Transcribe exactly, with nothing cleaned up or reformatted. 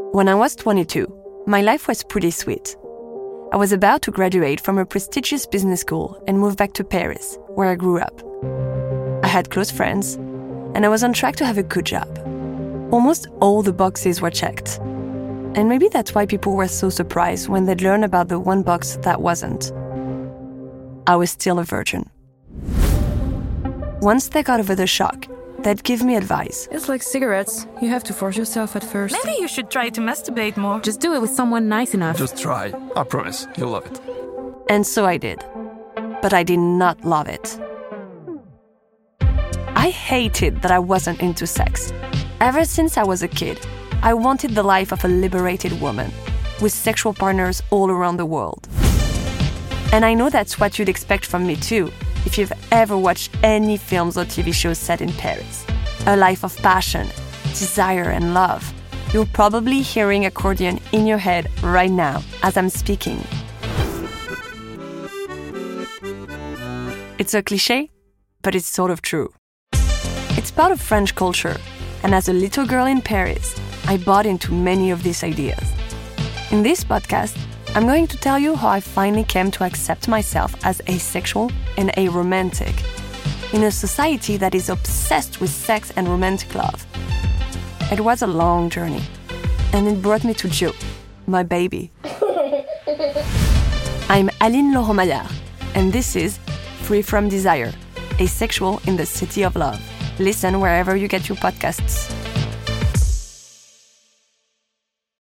When I was twenty-two, my life was pretty sweet. I was about to graduate from a prestigious business school and move back to Paris, where I grew up. I had close friends, and I was on track to have a good job. Almost all the boxes were checked. And maybe that's why people were so surprised when they'd learn about the one box that wasn't. I was still a virgin. Once they got over the shock, they'd give me advice. It's like cigarettes. You have to force yourself at first. Maybe you should try to masturbate more. Just do it with someone nice enough. Just try. I promise, you'll love it. And so I did. But I did not love it. I hated that I wasn't into sex. Ever since I was a kid, I wanted the life of a liberated woman, with sexual partners all around the world. And I know that's what you'd expect from me too, if you've ever watched any films or T V shows set in Paris. A life of passion, desire, and love. You're probably hearing accordion in your head right now as I'm speaking. It's a cliché, but it's sort of true. It's part of French culture, and as a little girl in Paris, I bought into many of these ideas. In this podcast, I'm going to tell you how I finally came to accept myself as asexual and aromantic in a society that is obsessed with sex and romantic love. It was a long journey, and it brought me to Joe, my baby. I'm Aline Laurent-Maillard, and this is Free From Desire, Asexual in the City of Love. Listen wherever you get your podcasts.